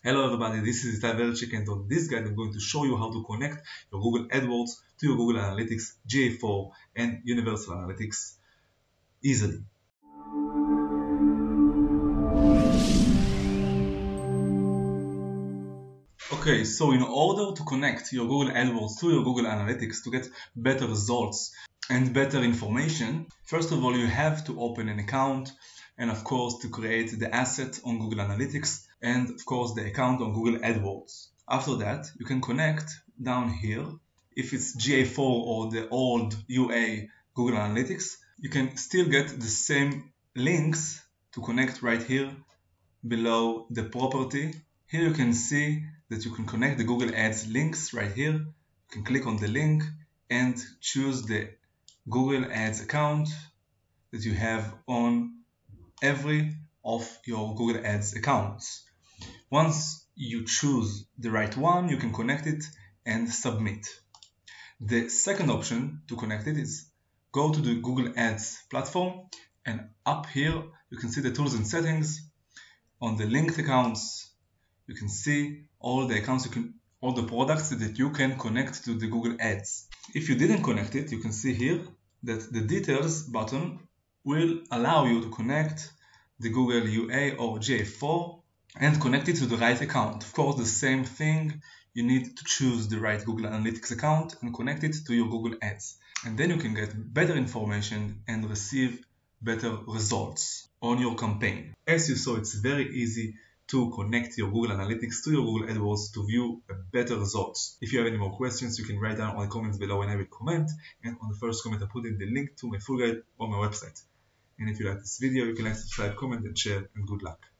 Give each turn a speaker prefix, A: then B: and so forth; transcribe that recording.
A: Hello everybody, this is Itai Verchik, and on this guide I'm going to show you how to connect your Google AdWords to your Google Analytics, GA4 and Universal Analytics easily. Okay, so in order to connect your Google AdWords to your Google Analytics to get better results and better information, first of all you have to open an account and of course to create the asset on Google Analytics and of course the account on Google AdWords. After that you can connect down here. If it's GA4 or the old UA Google Analytics, you can still get the same links to connect right here below the property. Here you can see that you can connect the Google Ads links right here. You can click on the link and choose the Google Ads account that you have on every of your Google Ads accounts. Once you choose the right one, you can connect it and submit. The second option to connect it is go to the Google Ads platform, and up here you can see the tools and settings. On the linked accounts you can see all the accounts, all the products that you can connect to the Google Ads. If you didn't connect it, you can see here that the details button will allow you to connect the Google UA or GA4 and connect it to the right account. Of course, the same thing, you need to choose the right Google Analytics account and connect it to your Google Ads. And then you can get better information and receive better results on your campaign. As you saw, it's very easy to connect your Google Analytics to your Google AdWords to view better results. If you have any more questions, you can write down on the comments below and I will comment. And on the first comment I put in the link to my full guide on my website. And if you like this video, you can like, subscribe, comment and share, and good luck.